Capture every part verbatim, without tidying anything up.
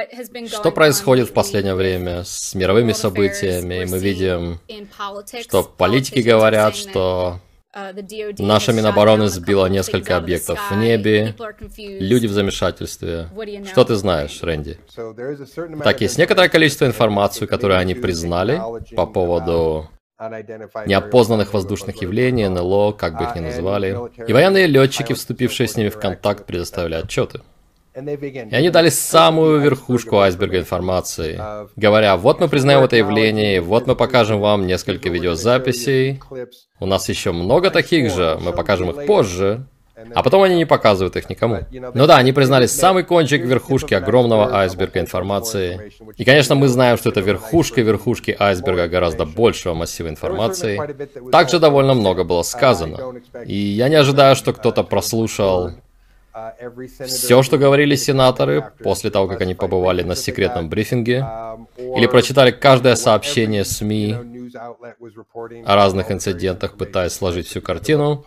Что происходит в последнее время с мировыми событиями? Мы видим, что политики говорят, что наша Минобороны сбила несколько объектов в небе, люди в замешательстве. Что ты знаешь, Рэнди? Так, есть некоторое количество информации, которую они признали по поводу неопознанных воздушных явлений, эн эл о, как бы их ни называли. И военные летчики, вступившие с ними в контакт, предоставили отчеты. И они дали самую верхушку айсберга информации, говоря, вот мы признаем это явление, вот мы покажем вам несколько видеозаписей, у нас еще много таких же, мы покажем их позже, а потом они не показывают их никому. Ну да, они признали самый кончик верхушки огромного айсберга информации. И, конечно, мы знаем, что это верхушка верхушки айсберга гораздо большего массива информации. Также довольно много было сказано. И я не ожидаю, что кто-то прослушал все, что говорили сенаторы после того, как они побывали на секретном брифинге, или прочитали каждое сообщение СМИ о разных инцидентах, пытаясь сложить всю картину.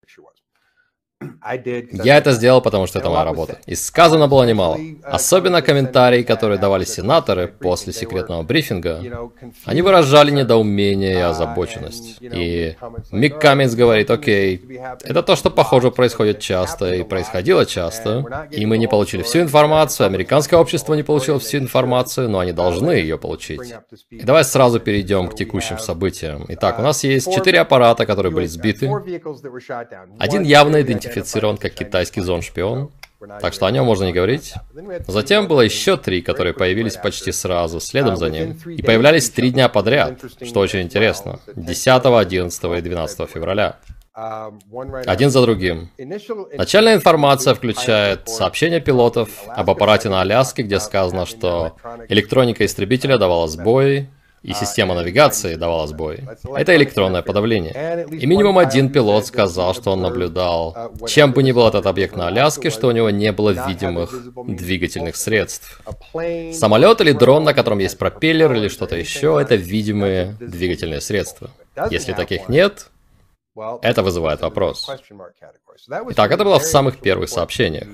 Я это сделал, потому что это моя работа. И сказано было немало. Особенно комментарии, которые давали сенаторы после секретного брифинга. Они выражали недоумение и озабоченность. И Мик Камминс говорит, окей, это то, что, похоже, происходит часто и происходило часто. И мы не получили всю информацию, американское общество не получило всю информацию, но они должны ее получить. И давай сразу перейдем к текущим событиям. Итак, у нас есть четыре аппарата, которые были сбиты. Один явно идентифицирован как китайский зон-шпион, так что о нем можно не говорить. Затем было еще три, которые появились почти сразу, следом за ним. И появлялись три дня подряд, что очень интересно. десятого, одиннадцатого и двенадцатого февраля. Один за другим. Начальная информация включает сообщения пилотов об аппарате на Аляске, где сказано, что электроника истребителя давала сбой, и система навигации давала сбой. Это электронное подавление. И минимум один пилот сказал, что он наблюдал, чем бы ни был этот объект на Аляске, что у него не было видимых двигательных средств. Самолет или дрон, на котором есть пропеллер или что-то еще, это видимые двигательные средства. Если таких нет, это вызывает вопрос. Итак, это было в самых первых сообщениях.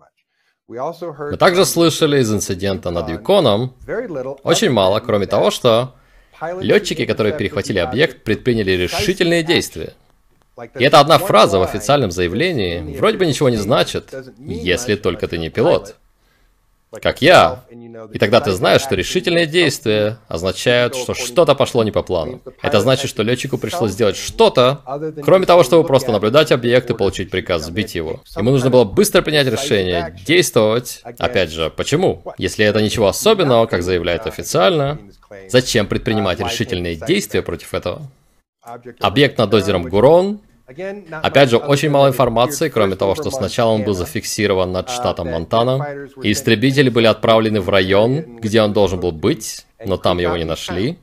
Мы также слышали из инцидента над Юконом очень мало, кроме того, что летчики, которые перехватили объект, предприняли решительные действия. И это одна фраза в официальном заявлении вроде бы ничего не значит, если только ты не пилот. Как я. И тогда ты знаешь, что решительные действия означают, что что-то пошло не по плану. Это значит, что летчику пришлось сделать что-то, кроме того, чтобы просто наблюдать объект и получить приказ сбить его. Ему нужно было быстро принять решение, действовать. Опять же, почему? Если это ничего особенного, как заявляют официально, зачем предпринимать решительные действия против этого? Объект над озером Гурон. Опять же, очень мало информации, кроме того, что сначала он был зафиксирован над штатом Монтана, и истребители были отправлены в район, где он должен был быть, но там его не нашли.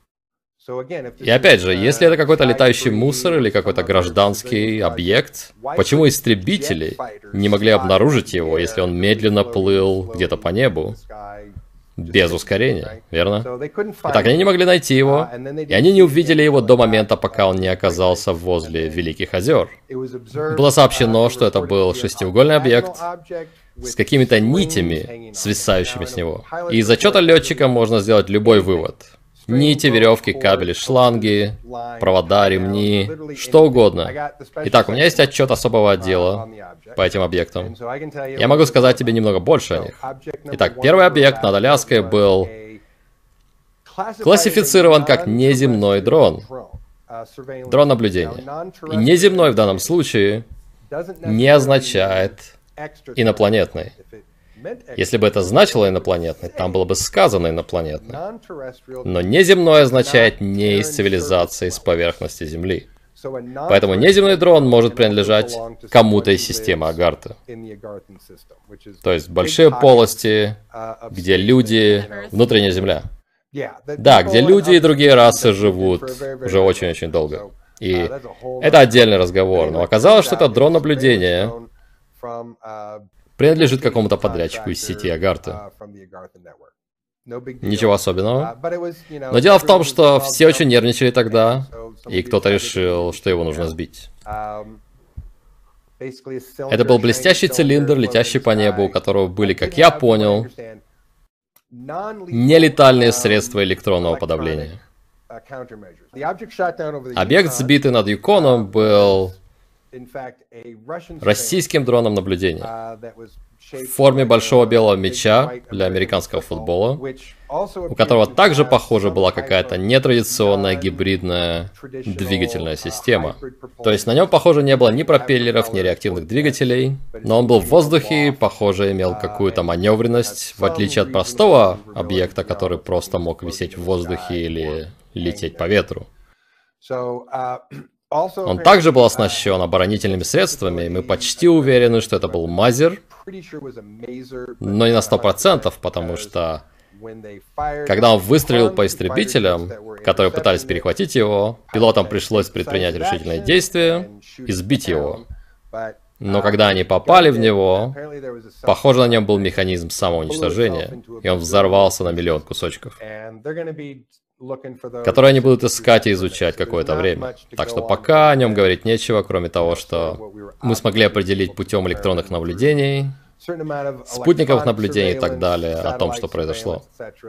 И опять же, если это какой-то летающий мусор или какой-то гражданский объект, почему истребители не могли обнаружить его, если он медленно плыл где-то по небу? Без ускорения, верно? Итак, они не могли найти его, и они не увидели его до момента, пока он не оказался возле Великих озер. Было сообщено, что это был шестиугольный объект с какими-то нитями, свисающими с него. И из отчета летчика можно сделать любой вывод. Нити, веревки, кабели, шланги, провода, ремни, что угодно. Итак, у меня есть отчет особого отдела по этим объектам. Я могу сказать тебе немного больше о них. Итак, первый объект над Аляской был классифицирован как неземной дрон. Дрон наблюдения. И неземной в данном случае не означает инопланетный. Если бы это значило инопланетный, там было бы сказано инопланетный. Но неземной означает не из цивилизации с поверхности Земли. Поэтому неземной дрон может принадлежать кому-то из системы Агарты. То есть большие полости, где люди, внутренняя Земля. Да, где люди и другие расы живут уже очень-очень долго. И это отдельный разговор. Но оказалось, что это дрон наблюдения принадлежит какому-то подрядчику из сети Агарты. Ничего особенного. Но дело в том, что все очень нервничали тогда, и кто-то решил, что его нужно сбить. Это был блестящий цилиндр, летящий по небу, у которого были, как я понял, нелетальные средства электронного подавления. Объект, сбитый над Юконом, был российским дроном наблюдения в форме большого белого мяча для американского футбола, у которого также, похоже, была какая-то нетрадиционная гибридная двигательная система. То есть на нем, похоже, не было ни пропеллеров, ни реактивных двигателей, но он был в воздухе и, похоже, имел какую-то маневренность, в отличие от простого объекта, который просто мог висеть в воздухе или лететь по ветру. Он также был оснащен оборонительными средствами, и мы почти уверены, что это был Мазер, но не на сто процентов, потому что когда он выстрелил по истребителям, которые пытались перехватить его, пилотам пришлось предпринять решительные действия и сбить его. Но когда они попали в него, похоже, на нем был механизм самоуничтожения, и он взорвался на миллион кусочков, которые они будут искать и изучать какое-то время. Так что пока о нем говорить нечего, кроме того, что мы смогли определить путем электронных наблюдений, спутниковых наблюдений и так далее о том, что произошло.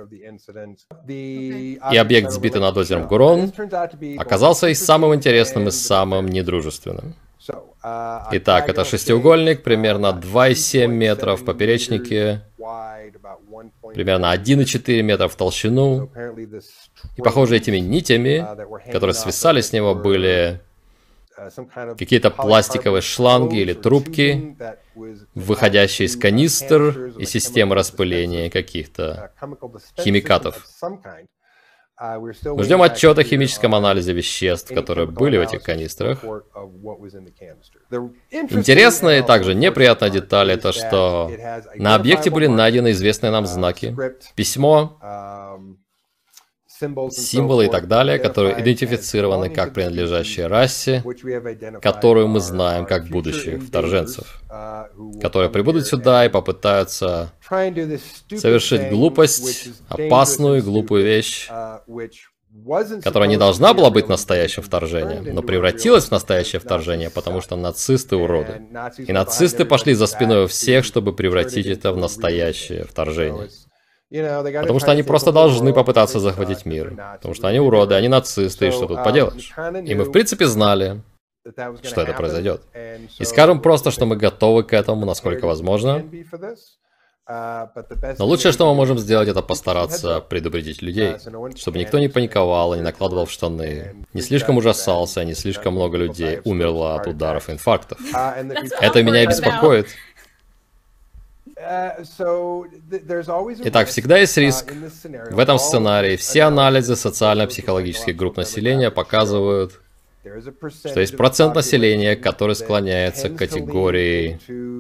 И объект, сбитый над озером Гурон, оказался и самым интересным, и самым недружественным. Итак, это шестиугольник, примерно два и семь метра в поперечнике, примерно один и четыре метра в толщину. И, похоже, этими нитями, которые свисали с него, были какие-то пластиковые шланги или трубки, выходящие из канистр и системы распыления каких-то химикатов. Мы ждем отчет о химическом анализе веществ, которые были в этих канистрах. Интересная и также неприятная деталь — это что на объекте были найдены известные нам знаки, письмо, символы и так далее, которые идентифицированы как принадлежащие расе, которую мы знаем как будущих вторженцев, которые прибудут сюда и попытаются совершить глупость, опасную и глупую вещь, которая не должна была быть настоящим вторжением, но превратилась в настоящее вторжение, потому что нацисты уроды. И нацисты пошли за спиной у всех, чтобы превратить это в настоящее вторжение. Потому что они просто должны попытаться захватить мир. Потому что они уроды, они нацисты, и что тут поделаешь? И мы, в принципе, знали, что это произойдет. И скажем просто, что мы готовы к этому, насколько возможно. Но лучшее, что мы можем сделать, это постараться предупредить людей, чтобы никто не паниковал и не накладывал в штаны, не слишком ужасался, не слишком много людей умерло от ударов и инфарктов. Это меня и беспокоит. Итак, всегда есть риск. В этом сценарии все анализы социально-психологических групп населения показывают, что есть процент населения, который склоняется к категории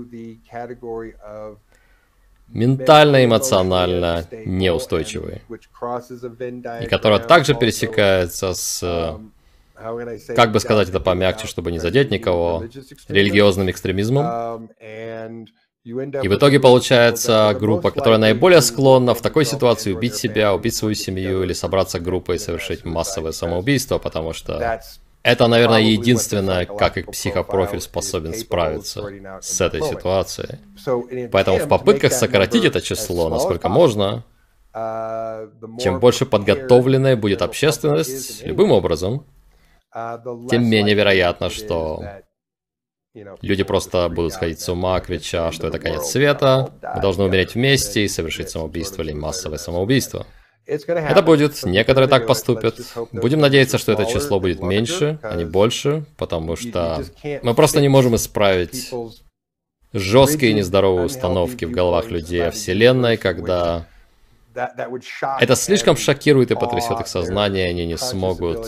ментально-эмоционально неустойчивой, и которая также пересекается с, как бы сказать это помягче, чтобы не задеть никого, религиозным экстремизмом. И в итоге получается группа, которая наиболее склонна в такой ситуации убить себя, убить свою семью или собраться группой и совершить массовое самоубийство, потому что это, наверное, единственное, как их психопрофиль способен справиться с этой ситуацией. Поэтому в попытках сократить это число, насколько можно, чем больше подготовленной будет общественность любым образом, тем менее вероятно, что люди просто будут сходить с ума, крича, что это конец света, мы должны умереть вместе и совершить самоубийство или массовое самоубийство. Это будет, некоторые так поступят. Будем надеяться, что это число будет меньше, а не больше, потому что мы просто не можем исправить жесткие и нездоровые установки в головах людей о Вселенной, когда это слишком шокирует и потрясет их сознание, и они не смогут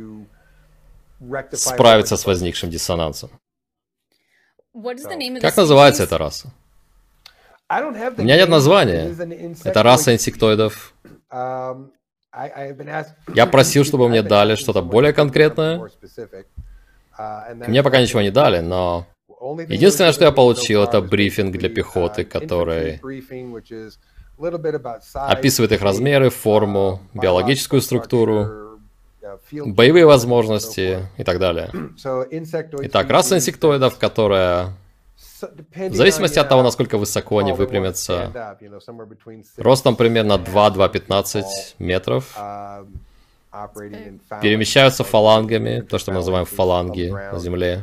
справиться с возникшим диссонансом. Как называется эта раса? У меня нет названия. Это раса инсектоидов. Я просил, чтобы мне дали что-то более конкретное. Мне пока ничего не дали, но единственное, что я получил, это брифинг для пехоты, который описывает их размеры, форму, биологическую структуру, боевые возможности и так далее. Итак, раса инсектоидов, которая В зависимости от того, насколько высоко они выпрямятся, ростом примерно два — два-пятнадцать метров, перемещаются фалангами, то, что мы называем фаланги на Земле.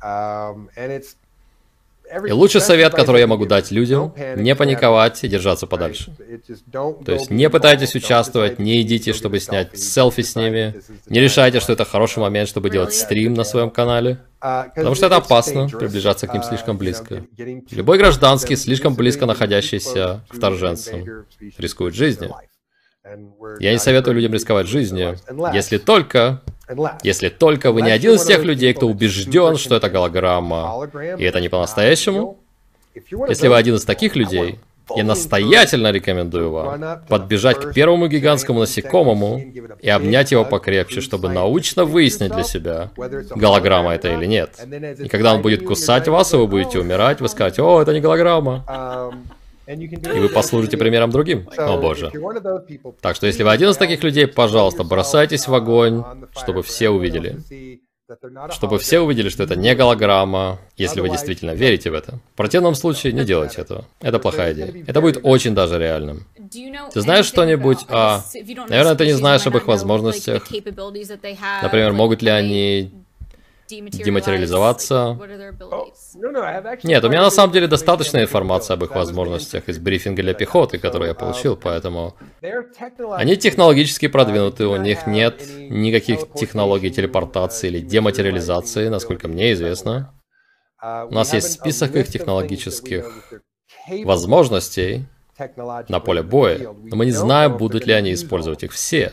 И лучший совет, который я могу дать людям, не паниковать и держаться подальше. То есть не пытайтесь участвовать, не идите, чтобы снять селфи с ними, не решайте, что это хороший момент, чтобы делать стрим на своем канале, потому что это опасно, приближаться к ним слишком близко. Любой гражданский, слишком близко находящийся к вторженцам, рискует жизнью. Я не советую людям рисковать жизнью, если только... Если только вы не один из тех людей, кто убежден, что это голограмма, и это не по-настоящему. Если вы один из таких людей, я настоятельно рекомендую вам подбежать к первому гигантскому насекомому и обнять его покрепче, чтобы научно выяснить для себя, голограмма это или нет. И когда он будет кусать вас, и вы будете умирать, вы скажете: «О, это не голограмма». И вы послужите примером другим. О боже. Так что если вы один из таких людей, пожалуйста, бросайтесь в огонь, чтобы все увидели. Чтобы все увидели, что это не голограмма, если вы действительно верите в это. В противном случае не делайте этого. Это плохая идея. Это будет очень даже реальным. Ты знаешь что-нибудь о... Наверное, ты не знаешь об их возможностях. Например, могут ли они дематериализоваться? Нет, у меня на самом деле достаточно информации об их возможностях из брифинга для пехоты, который я получил, поэтому... Они технологически продвинуты, у них нет никаких технологий телепортации или дематериализации, насколько мне известно. У нас есть список их технологических возможностей на поле боя, но мы не знаем, будут ли они использовать их все.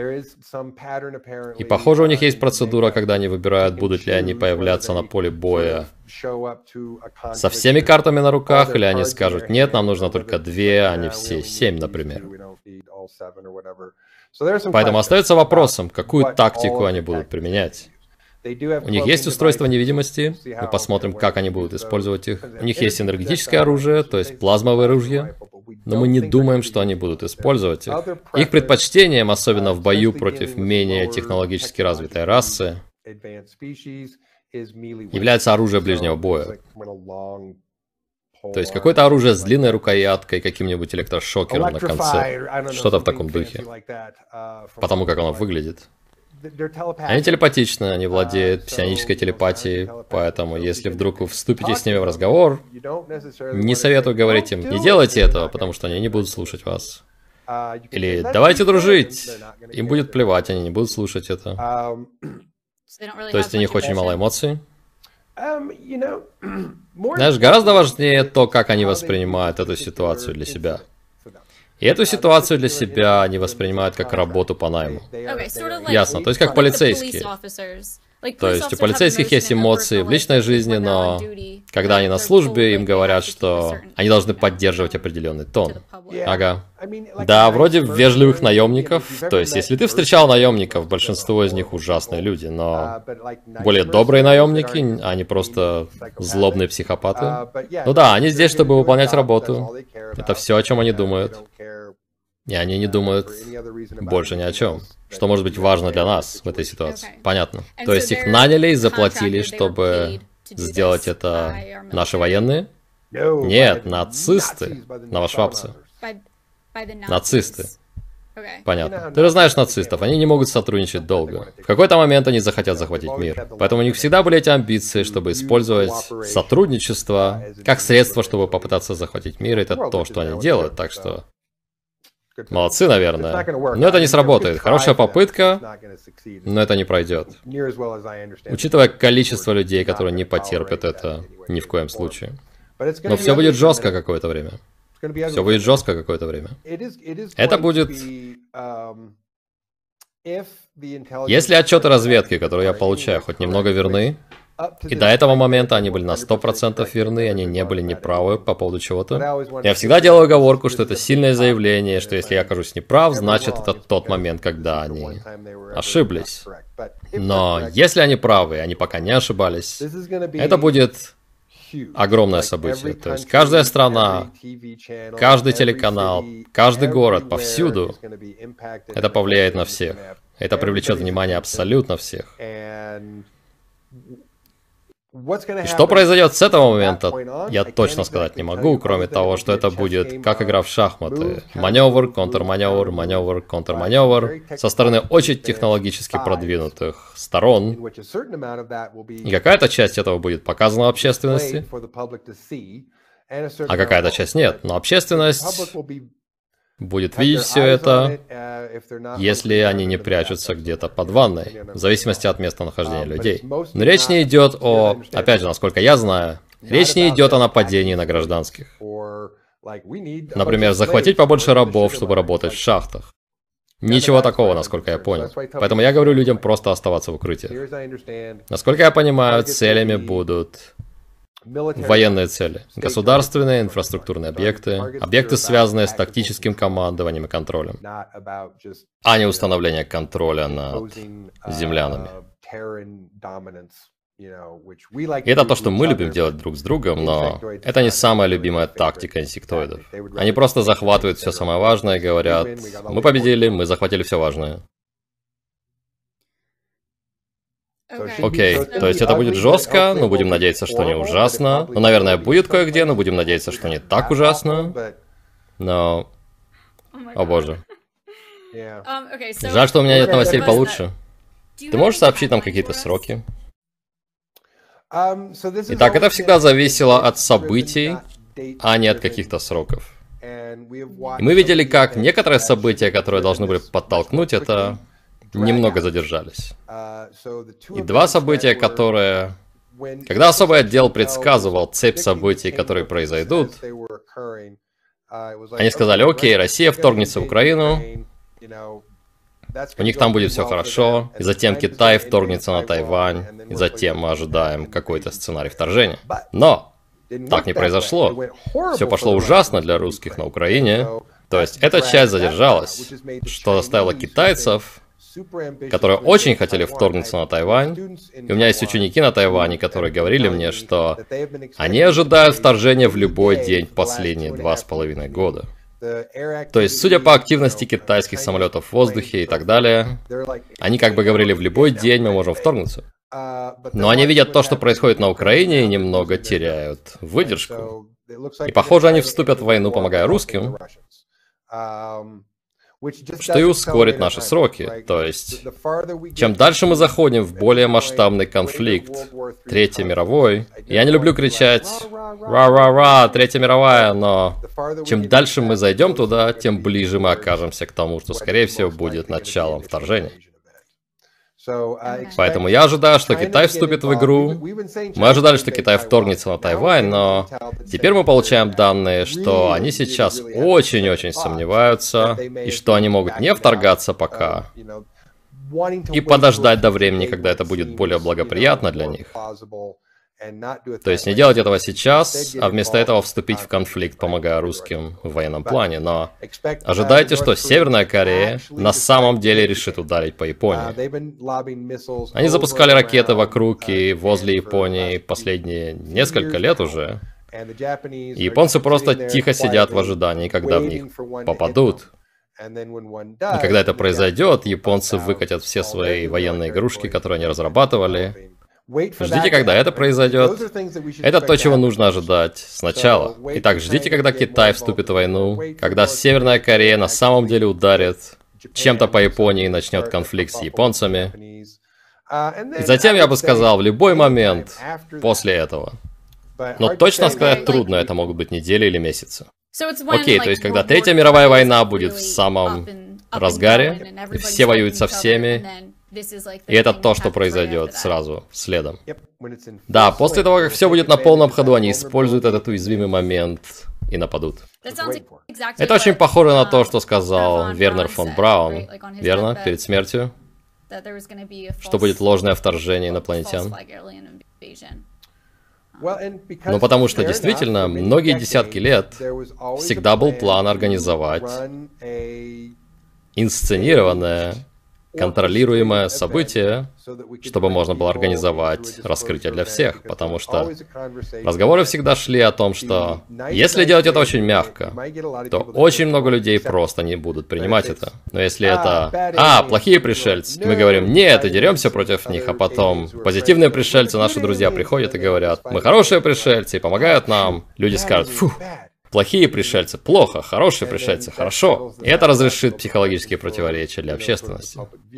И похоже, у них есть процедура, когда они выбирают, будут ли они появляться на поле боя со всеми картами на руках, или они скажут: нет, нам нужно только две, а не все семь, например. Поэтому остается вопросом, какую тактику они будут применять. У них есть устройство невидимости, мы посмотрим, как они будут использовать их. У них есть энергетическое оружие, то есть плазмовое ружье, но мы не думаем, что они будут использовать их. Их предпочтением, особенно в бою против менее технологически развитой расы, является оружие ближнего боя. То есть какое-то оружие с длинной рукояткой, каким-нибудь электрошокером на конце. Что-то в таком духе. Потому как оно выглядит. Они телепатичны, они владеют псионической телепатией, поэтому если вдруг вы вступите с ними в разговор, не советую говорить им: не делайте этого, потому что они не будут слушать вас. Или давайте дружить. Им будет плевать, они не будут слушать это. То есть у них очень мало эмоций. Знаешь, гораздо важнее то, как они воспринимают эту ситуацию для себя. И эту ситуацию для себя они воспринимают как работу по найму. Ясно, то есть как полицейские. То есть у полицейских есть эмоции в личной жизни, но когда они на службе, им говорят, что они должны поддерживать определенный тон. Ага. Да, вроде вежливых наемников. То есть если ты встречал наемников, большинство из них ужасные люди, но более добрые наемники, они просто злобные психопаты. Ну да, они здесь, чтобы выполнять работу. Это все, о чем они думают. И они не думают больше ни о чем. Что может быть важно для нас в этой ситуации? Понятно. То есть их наняли и заплатили, чтобы сделать это наши военные? Нет, нацисты. Новошвабцы. Нацисты. Понятно. Ты же знаешь нацистов, они не могут сотрудничать долго. В какой-то момент они захотят захватить мир. Поэтому у них всегда были эти амбиции, чтобы использовать сотрудничество как средство, чтобы попытаться захватить мир. Это то, что они делают, так что... Молодцы, наверное. Но это не сработает. Хорошая попытка, но это не пройдет. Учитывая количество людей, которые не потерпят это ни в коем случае. Но все будет жестко какое-то время. Все будет жестко какое-то время. Это будет... Если отчеты разведки, которые я получаю, хоть немного верны, и до этого момента они были на сто процентов верны, они не были неправы по поводу чего-то. Я всегда делаю оговорку, что это сильное заявление, что если я окажусь неправ, значит это тот момент, когда они ошиблись. Но если они правы, они пока не ошибались, это будет огромное событие. То есть каждая страна, каждый телеканал, каждый город, повсюду, это повлияет на всех. Это привлечет внимание абсолютно всех. И что произойдет с этого момента, я точно сказать не могу, кроме того, что это будет как игра в шахматы. Маневр, контрманевр, маневр, контрманевр со стороны очень технологически продвинутых сторон. И какая-то часть этого будет показана общественности, а какая-то часть нет. Но общественность будет видеть все это, если они не прячутся где-то под ванной, в зависимости от местонахождения людей. Но речь не идет о, опять же, насколько я знаю, речь не идет о нападении на гражданских. Например, захватить побольше рабов, чтобы работать в шахтах. Ничего такого, насколько я понял. Поэтому я говорю людям просто оставаться в укрытии. Насколько я понимаю, целями будут военные цели, государственные инфраструктурные объекты, объекты, связанные с тактическим командованием и контролем, а не установление контроля над землянами. И это то, что мы любим делать друг с другом, но это не самая любимая тактика инсектоидов. Они просто захватывают все самое важное и говорят: мы победили, мы захватили все важное. Окей, okay. То есть это будет жестко, но будем надеяться, что не ужасно. Ну, наверное, будет кое-где, но будем надеяться, что не так ужасно. Но... О боже. Жаль, что у меня нет новостей получше. Ты можешь сообщить нам какие-то сроки? Итак, это всегда зависело от событий, а не от каких-то сроков. И мы видели, как некоторые события, которые должны были подтолкнуть это, немного задержались. И два события, которые... Когда особый отдел предсказывал цепь событий, которые произойдут, они сказали: окей, Россия вторгнется в Украину, у них там будет все хорошо, и затем Китай вторгнется на Тайвань, и затем мы ожидаем какой-то сценарий вторжения. Но так не произошло. Все пошло ужасно для русских на Украине. То есть эта часть задержалась, что заставило китайцев, которые очень хотели вторгнуться на Тайвань. И у меня есть ученики на Тайване, которые говорили мне, что они ожидают вторжения в любой день последние два с половиной года. То есть, судя по активности китайских самолетов в воздухе и так далее, они как бы говорили: в любой день мы можем вторгнуться. Но они видят то, что происходит на Украине, и немного теряют выдержку. И похоже, они вступят в войну, помогая русским, что и ускорит наши сроки. То есть, чем дальше мы заходим в более масштабный конфликт, Третьей мировой, я не люблю кричать «Ра-ра-ра, Третья мировая», но чем дальше мы зайдем туда, тем ближе мы окажемся к тому, что, скорее всего, будет началом вторжения. Поэтому я ожидаю, что Китай вступит в игру. Мы ожидали, что Китай вторгнется на Тайвань, но теперь мы получаем данные, что они сейчас очень-очень сомневаются, и что они могут не вторгаться пока, и подождать до времени, когда это будет более благоприятно для них. То есть не делать этого сейчас, а вместо этого вступить в конфликт, помогая русским в военном плане. Но ожидайте, что Северная Корея на самом деле решит ударить по Японии. Они запускали ракеты вокруг и возле Японии последние несколько лет уже. И японцы просто тихо сидят в ожидании, когда в них попадут. И когда это произойдет, японцы выкатят все свои военные игрушки, которые они разрабатывали. Ждите, когда это произойдет. Это то, чего нужно ожидать сначала. Итак, ждите, когда Китай вступит в войну, когда Северная Корея на самом деле ударит чем-то по Японии и начнет конфликт с японцами. И затем, я бы сказал, в любой момент после этого. Но точно сказать трудно, это могут быть недели или месяцы. Окей, то есть, когда Третья мировая война будет в самом разгаре, и все воюют со всеми, и это то, что произойдет сразу, следом. Да, после того, как все будет на полном ходу, они используют этот уязвимый момент и нападут. Это очень похоже на то, что сказал Вернер фон Браун, верно, перед смертью? Что будет ложное вторжение инопланетян. Ну, потому что действительно, многие десятки лет всегда был план организовать инсценированное контролируемое событие, чтобы можно было организовать раскрытие для всех, потому что разговоры всегда шли о том, что если делать это очень мягко, то очень много людей просто не будут принимать это. Но если это «А, плохие пришельцы», мы говорим «Нет», и деремся против них, а потом позитивные пришельцы, наши друзья приходят и говорят «Мы хорошие пришельцы и помогают нам», люди скажут «Фу». Плохие пришельцы – плохо, хорошие пришельцы – хорошо. И это разрешит психологические противоречия для общественности.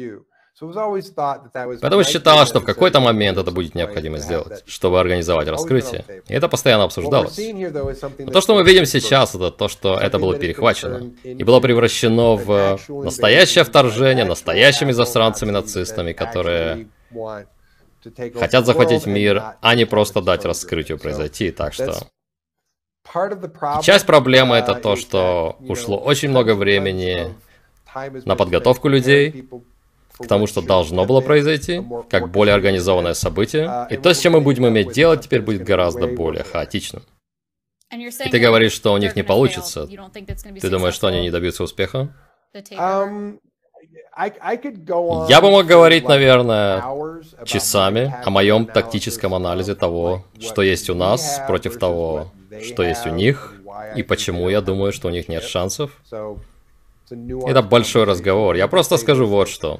Поэтому считалось, что в какой-то момент это будет необходимо сделать, чтобы организовать раскрытие. И это постоянно обсуждалось. Но то, что мы видим сейчас, это то, что это было перехвачено. И было превращено в настоящее вторжение настоящими засранцами-нацистами, которые хотят захватить мир, а не просто дать раскрытию произойти. Так что... И часть проблемы это то, что ушло очень много времени на подготовку людей к тому, что должно было произойти, как более организованное событие. И то, с чем мы будем иметь дело, теперь будет гораздо более хаотичным. И ты говоришь, что у них не получится. Ты думаешь, что они не добьются успеха? Я бы мог говорить, наверное, часами о моем тактическом анализе того, что есть у нас, против того, что есть у них, и почему я думаю, что у них нет шансов. Это большой разговор. Я просто скажу вот что.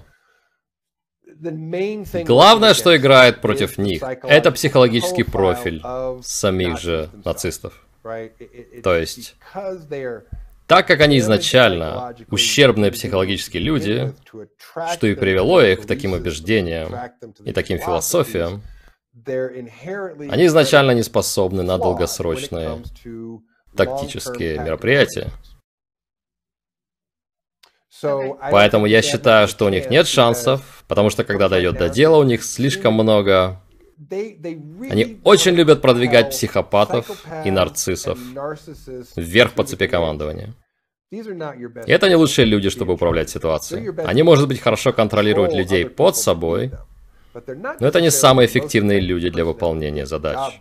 Главное, что играет против них, это психологический профиль самих же нацистов. То есть... Так как они изначально ущербные психологические люди, что и привело их к таким убеждениям и таким философиям, они изначально не способны на долгосрочные тактические мероприятия. Поэтому я считаю, что у них нет шансов, потому что когда дойдет до дела, у них слишком много... Они очень любят продвигать психопатов и нарциссов вверх по цепи командования. И это не лучшие люди, чтобы управлять ситуацией. Они, может быть, хорошо контролируют людей под собой, но это не самые эффективные люди для выполнения задач.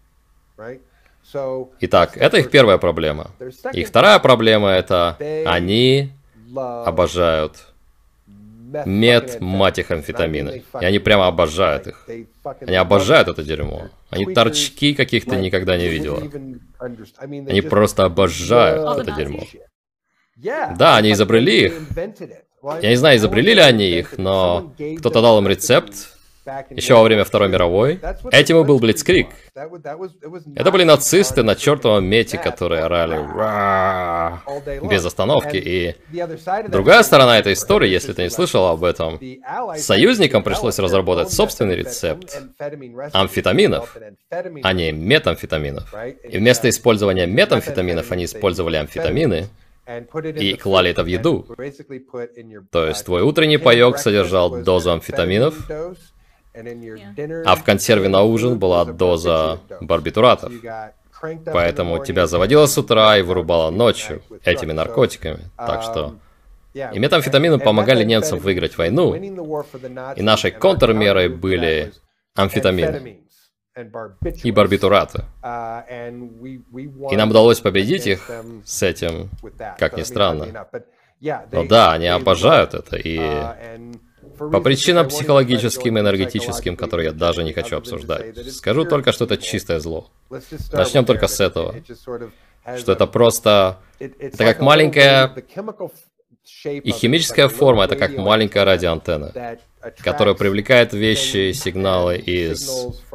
Итак, это их первая проблема. Их вторая проблема — это они обожают мет, мать их, амфетамины. И они прямо обожают их. Они обожают это дерьмо. Они торчки каких-то никогда не видела. Они просто обожают это дерьмо. Да, они изобрели их. Я не знаю, изобрели ли они их, но кто-то дал им рецепт еще во время Второй мировой. Этим и был Блицкриг. Это были нацисты на чертовом мете, которые орали «Ра!» без остановки. И другая сторона этой истории, если ты не слышал об этом, союзникам пришлось разработать собственный рецепт амфетаминов, а не метамфетаминов. И вместо использования метамфетаминов они использовали амфетамины и клали это в еду. То есть твой утренний паёк содержал дозу амфетаминов, а в консерве на ужин была доза барбитуратов. Поэтому тебя заводило с утра и вырубало ночью этими наркотиками. Так что... И метамфетамины помогали немцам выиграть войну. И нашей контрмерой были амфетамины и барбитураты. И нам удалось победить их с этим, как ни странно. Но да, они обожают это, и по причинам психологическим и энергетическим, которые я даже не хочу обсуждать. Скажу только, что это чистое зло. Начнем только с этого. Что это просто... Это как маленькая... И химическая форма — это как маленькая радиоантенна, которая привлекает вещи и сигналы из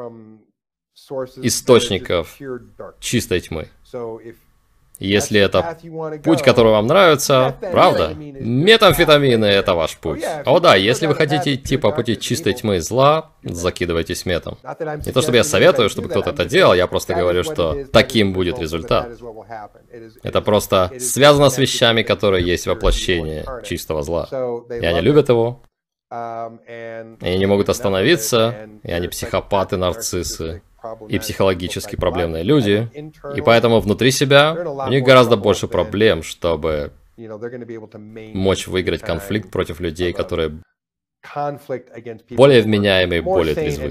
источников чистой тьмы. Если это путь, который вам нравится, правда, метамфетамины — это ваш путь. О да, если вы хотите идти по пути чистой тьмы и зла, закидывайтесь метом. Не то чтобы я советую, чтобы кто-то это делал, я просто говорю, что таким будет результат. Это просто связано с вещами, которые есть воплощение чистого зла. И они любят его, и они не могут остановиться, и они психопаты, нарциссы и психологически проблемные люди, и поэтому внутри себя у них гораздо больше проблем, чтобы мочь выиграть конфликт против людей, которые более вменяемые, более трезвы.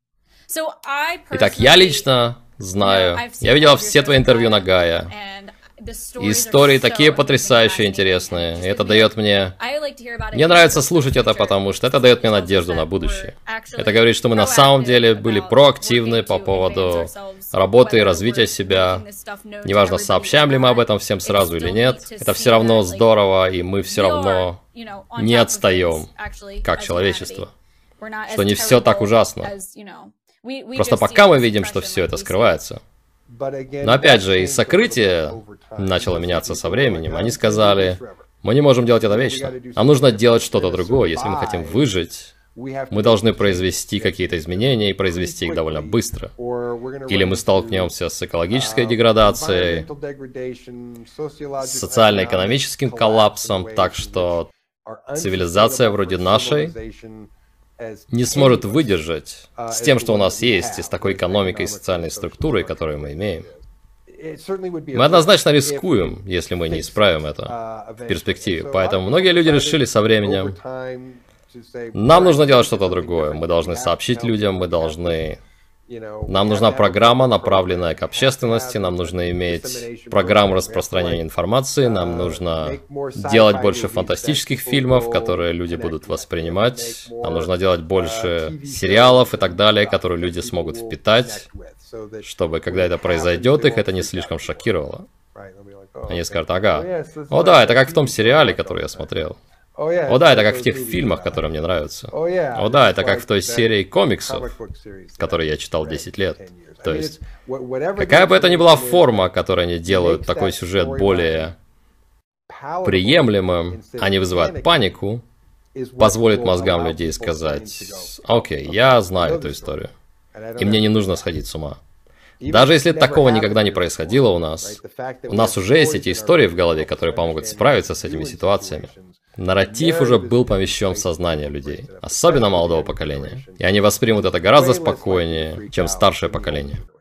Итак, я лично знаю, я видела все твои интервью на Гая, И истории такие потрясающе интересные. И это дает мне... Мне нравится слушать это, потому что это дает мне надежду на будущее. Это говорит, что мы на самом деле были проактивны по поводу работы и развития себя. Неважно, сообщаем ли мы об этом всем сразу или нет. Это все равно здорово, и мы все равно не отстаем, как человечество. Что не все так ужасно. Просто пока мы видим, что все это скрывается. Но опять же, и сокрытие начало меняться со временем. Они сказали, мы не можем делать это вечно. Нам нужно делать что-то другое. Если мы хотим выжить, мы должны произвести какие-то изменения и произвести их довольно быстро. Или мы столкнемся с экологической деградацией, с социально-экономическим коллапсом, так что цивилизация вроде нашей не сможет выдержать с тем, что у нас есть, и с такой экономикой и социальной структурой, которую мы имеем. Мы однозначно рискуем, если мы не исправим это в перспективе. Поэтому многие люди решили со временем, нам нужно делать что-то другое. Мы должны сообщить людям, мы должны... Нам нужна программа, направленная к общественности, нам нужно иметь программу распространения информации, нам нужно делать больше фантастических фильмов, которые люди будут воспринимать, нам нужно делать больше сериалов и так далее, которые люди смогут впитать, чтобы, когда это произойдет, их это не слишком шокировало. Они скажут, ага, о да, это как в том сериале, который я смотрел. О да, это как в тех фильмах, которые мне нравятся. О да, это как в той серии комиксов, которые я читал десять лет. То есть, какая бы это ни была форма, которой они делают такой сюжет более приемлемым, а не вызывает панику, позволит мозгам людей сказать, окей, я знаю эту историю, и мне не нужно сходить с ума. Даже если такого никогда не происходило у нас, у нас уже есть эти истории в голове, которые помогут справиться с этими ситуациями. Нарратив уже был помещен в сознание людей, особенно молодого поколения. И они воспримут это гораздо спокойнее, чем старшее поколение.